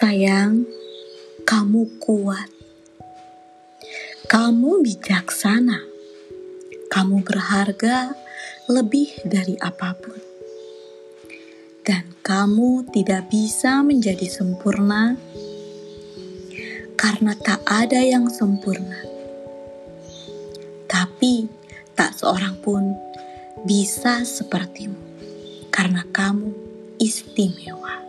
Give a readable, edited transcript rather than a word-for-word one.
Sayang, kamu kuat. Kamu bijaksana. Kamu berharga lebih dari apapun. Dan kamu tidak bisa menjadi sempurna karena tak ada yang sempurna. Tapi tak seorang pun bisa sepertimu karena kamu istimewa.